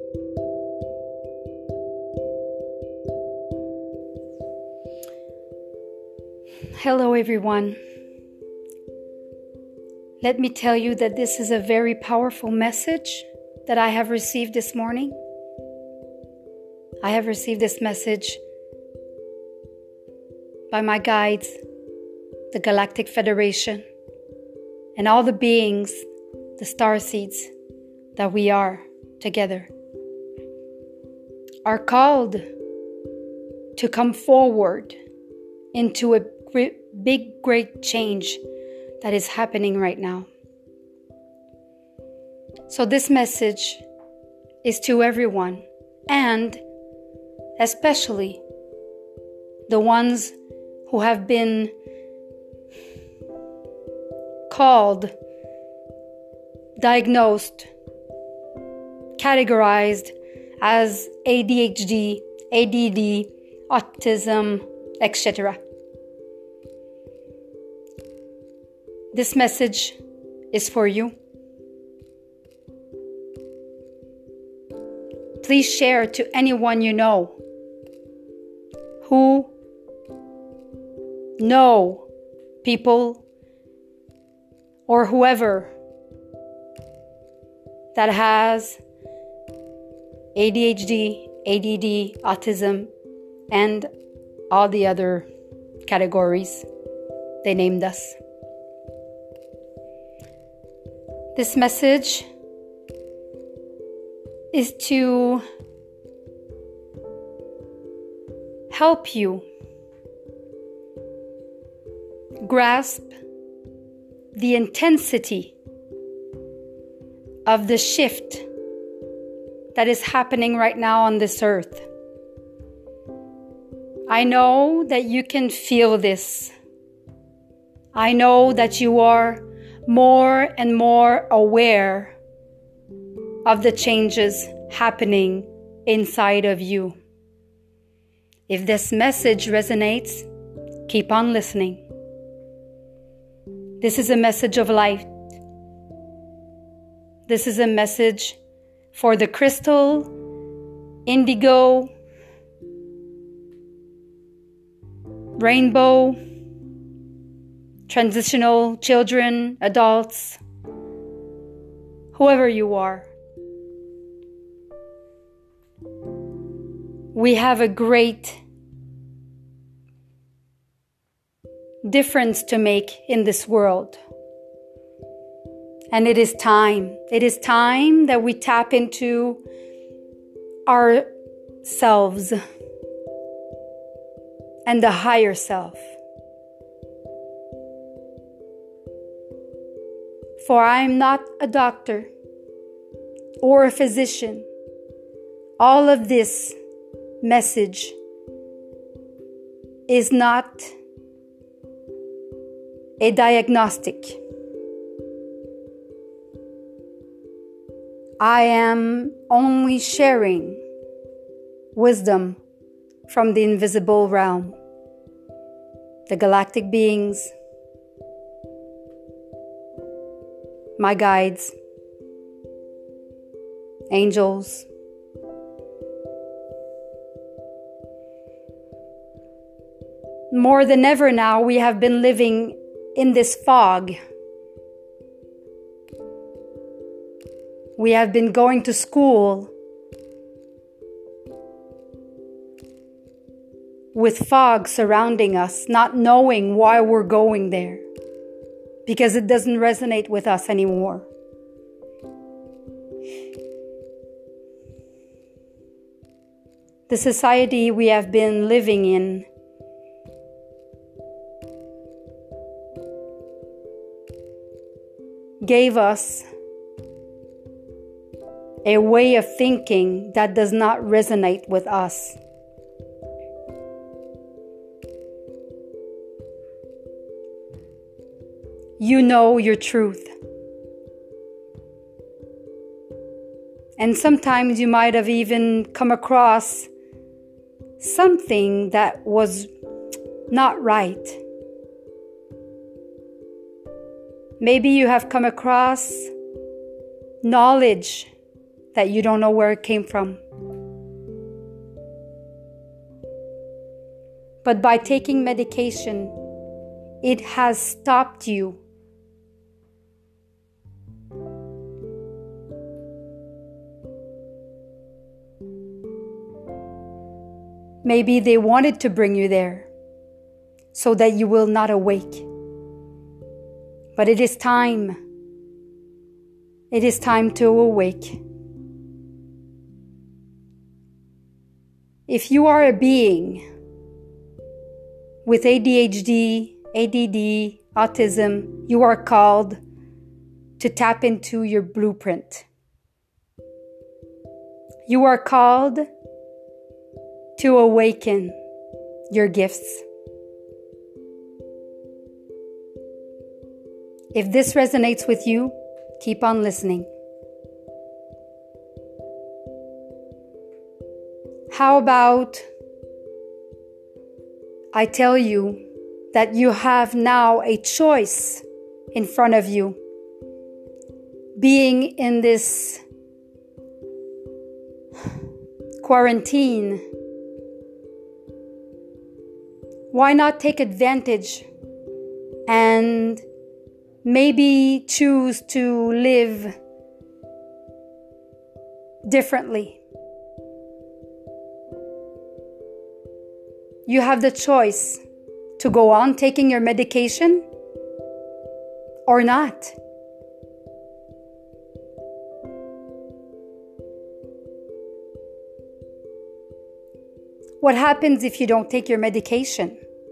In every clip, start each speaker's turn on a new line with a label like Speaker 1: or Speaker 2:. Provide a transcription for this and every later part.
Speaker 1: Hello everyone. Let me tell you that this is a very powerful message that I have received this morning. I have received this message by my guides, the Galactic Federation, and all the beings, the starseeds that we are together, are called to come forward into a big, great change that is happening right now. So this message is to everyone, and especially the ones who have been called, diagnosed, categorized as ADHD, ADD, autism, etc. This message is for you. Please share to anyone you know who know people or whoever that has ADHD, ADD, autism, and all the other categories they named us. This message is to help you grasp the intensity of the shift that is happening right now on this earth. I know that you can feel this. I know that you are more and more aware of the changes happening inside of you. If this message resonates, keep on listening. This is a message of light. This is a message for the crystal, indigo, rainbow, transitional children, adults, whoever you are. We have a great difference to make in this world. And it is time. It is time that we tap into ourselves and the higher self. For I am not a doctor or a physician. All of this message is not a diagnostic. I am only sharing wisdom from the invisible realm, the galactic beings, my guides, angels. More than ever now, we have been living in this fog. We have been going to school with fog surrounding us, not knowing why we're going there, because it doesn't resonate with us anymore. The society we have been living in gave us a way of thinking that does not resonate with us. You know your truth. And sometimes you might have even come across something that was not right. Maybe you have come across knowledge that you don't know where it came from. But by taking medication, it has stopped you. Maybe they wanted to bring you there so that you will not awake. But it is time. It is time to awake. If you are a being with ADHD, ADD, autism, you are called to tap into your blueprint. You are called to awaken your gifts. If this resonates with you, keep on listening. How about I tell you that you have now a choice in front of you. Being in this quarantine, why not take advantage and maybe choose to live differently? You have the choice to go on taking your medication or not. What happens if you don't take your medication?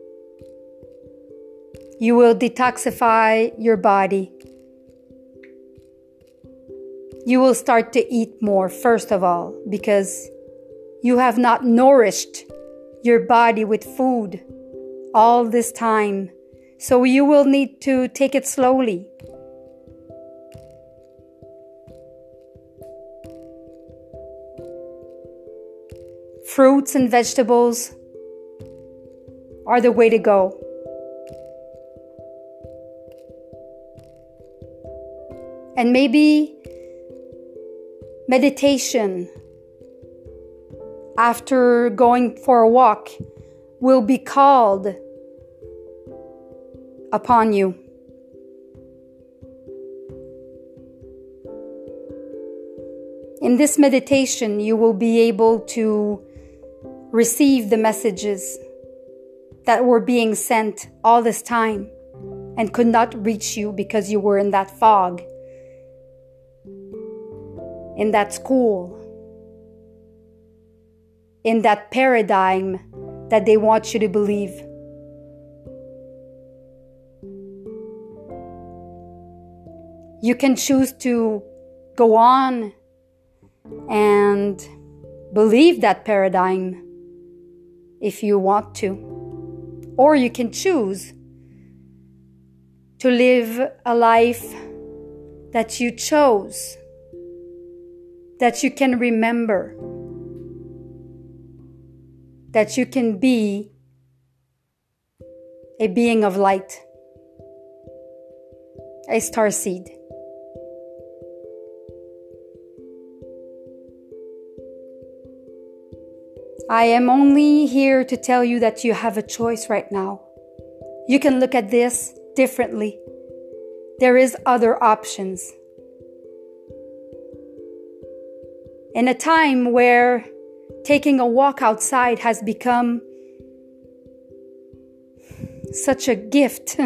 Speaker 1: You will detoxify your body. You will start to eat more, first of all, because you have not nourished your body with food all this time. So you will need to take it slowly. Fruits and vegetables are the way to go. And maybe meditation after going for a walk will be called upon you. In this meditation, you will be able to receive the messages that were being sent all this time and could not reach you because you were in that fog, in that school, in that paradigm that they want you to believe. You can choose to go on and believe that paradigm if you want to. Or you can choose to live a life that you chose, that you can remember, that you can be a being of light, a starseed. I am only here to tell you that you have a choice right now. You can look at this differently. There is other options. In a time where taking a walk outside has become such a gift,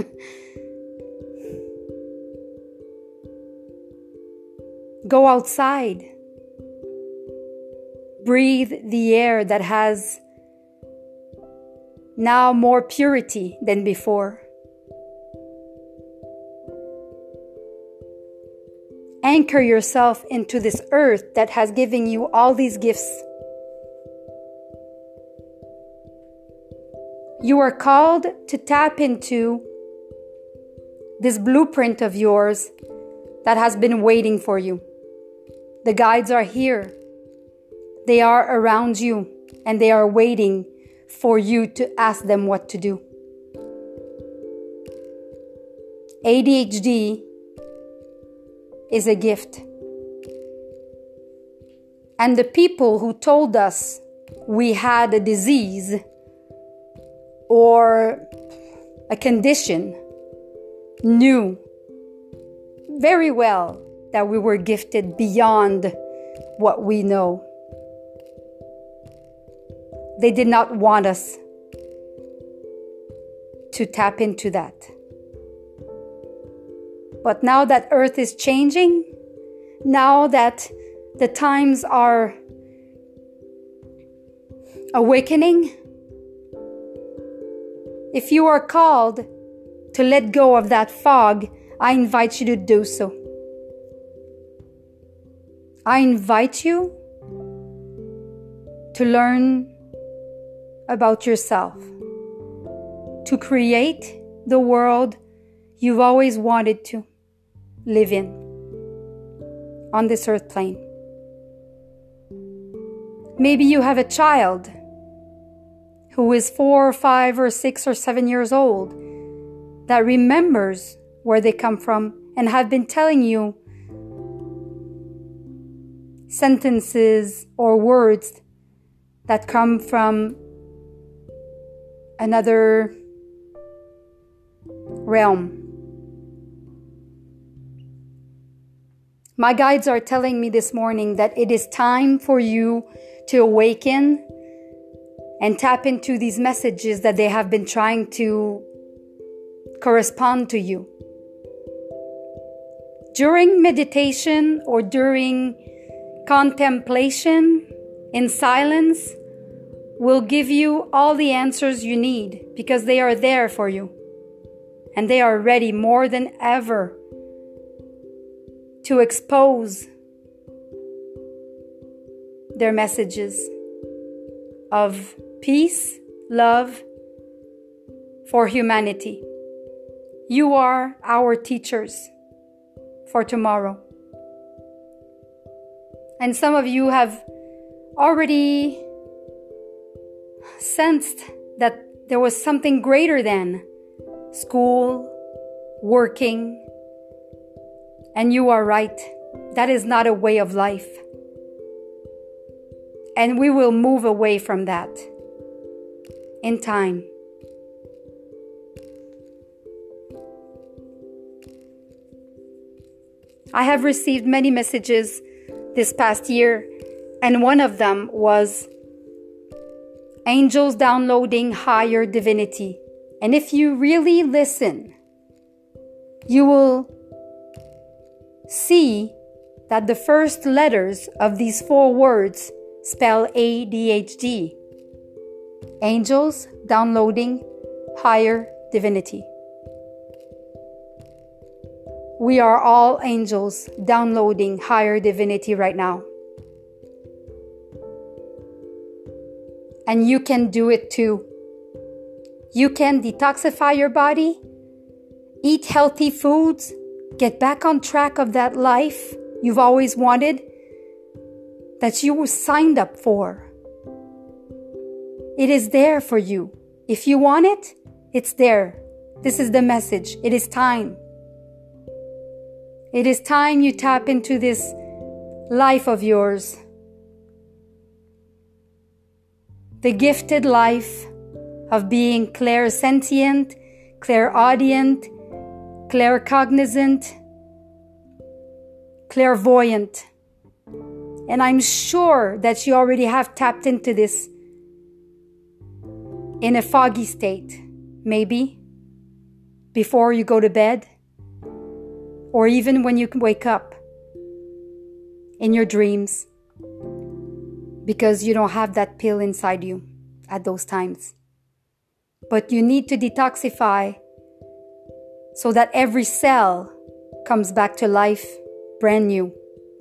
Speaker 1: go outside. Breathe the air that has now more purity than before. Anchor yourself into this earth that has given you all these gifts. You are called to tap into this blueprint of yours that has been waiting for you. The guides are here. They are around you and they are waiting for you to ask them what to do. ADHD is a gift. And the people who told us we had a disease or a condition knew very well that we were gifted beyond what we know. They did not want us to tap into that. But now that Earth is changing, now that the times are awakening, if you are called to let go of that fog, I invite you to do so. I invite you to learn about yourself, to create the world you've always wanted to live in on this earth plane. Maybe you have a child who is 4 or 5 or 6 or 7 years old that remembers where they come from and have been telling you sentences or words that come from another realm. My guides are telling me this morning that it is time for you to awaken and tap into these messages that they have been trying to correspond to you. During meditation or during contemplation in silence, will give you all the answers you need because they are there for you. And they are ready more than ever to expose their messages of peace, love for humanity. You are our teachers for tomorrow. And some of you have already sensed that there was something greater than school, working, and you are right. That is not a way of life. And we will move away from that in time. I have received many messages this past year, and one of them was angels downloading higher divinity. And if you really listen, you will see that the first letters of these 4 words spell ADHD. Angels downloading higher divinity. We are all angels downloading higher divinity right now. And you can do it too. You can detoxify your body, eat healthy foods, get back on track of that life you've always wanted, that you were signed up for. It is there for you. If you want it, it's there. This is the message. It is time. It is time you tap into this life of yours. The gifted life of being clairsentient, clairaudient, claircognizant, clairvoyant. And I'm sure that you already have tapped into this in a foggy state, maybe before you go to bed, or even when you wake up in your dreams, because you don't have that pill inside you at those times. But you need to detoxify so that every cell comes back to life brand new.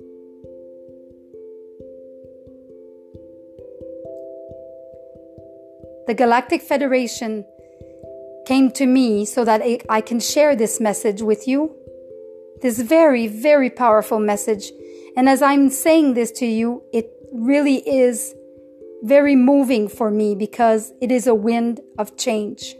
Speaker 1: The Galactic Federation came to me so that I can share this message with you. This very, very powerful message. And as I'm saying this to you, it really is very moving for me because it is a wind of change.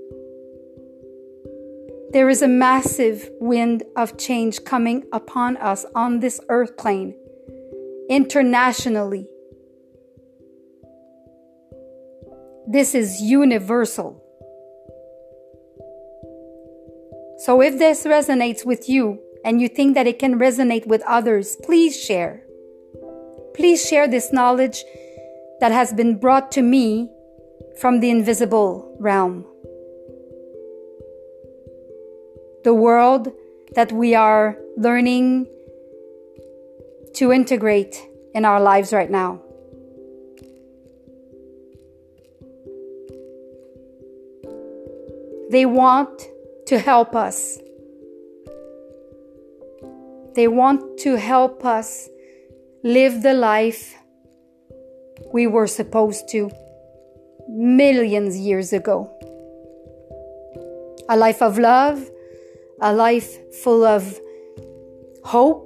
Speaker 1: There is a massive wind of change coming upon us on this earth plane. internationally. This is universal. So if this resonates with you and you think that it can resonate with others, please share. Please share this knowledge that has been brought to me from the invisible realm. The world that we are learning to integrate in our lives right now. They want to help us. They want to help us live the life we were supposed to millions of years ago. A life of love, a life full of hope,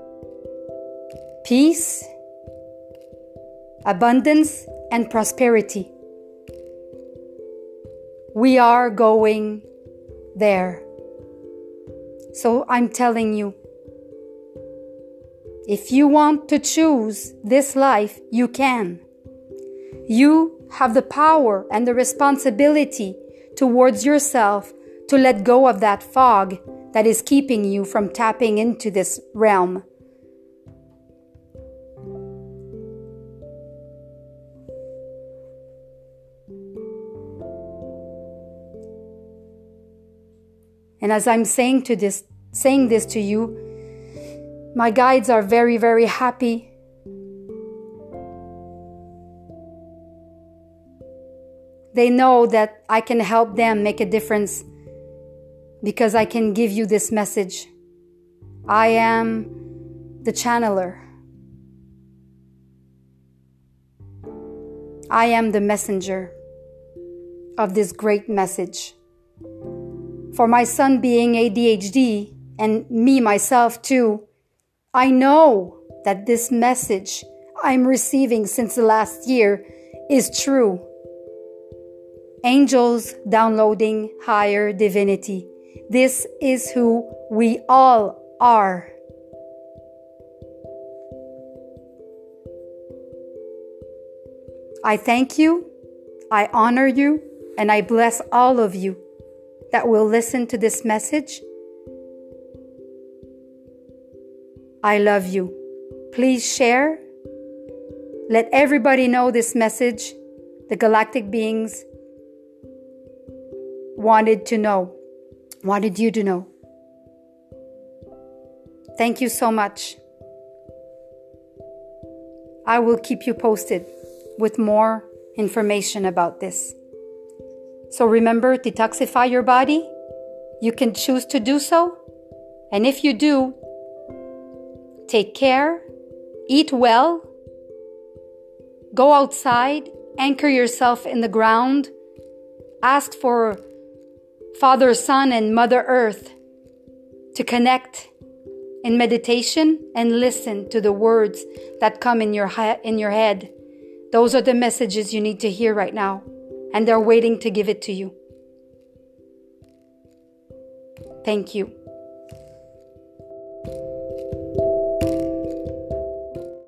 Speaker 1: peace, abundance, and prosperity. We are going there. So I'm telling you, if you want to choose this life, you can. You have the power and the responsibility towards yourself to let go of that fog that is keeping you from tapping into this realm. And as I'm saying this to you, my guides are very, very happy. They know that I can help them make a difference because I can give you this message. I am the channeler. I am the messenger of this great message. For my son being ADHD and me myself too, I know that this message I'm receiving since the last year is true. Angels downloading higher divinity. This is who we all are. I thank you, I honor you, and I bless all of you that will listen to this message. I love you. Please share. Let everybody know this message the galactic beings wanted you to know. Thank you so much. I will keep you posted with more information about this. So remember, detoxify your body. You can choose to do so. And if you do, take care, eat well, go outside, anchor yourself in the ground, ask for Father, Son, and Mother Earth to connect in meditation and listen to the words that come in your head. Those are the messages you need to hear right now, and they're waiting to give it to you. Thank you.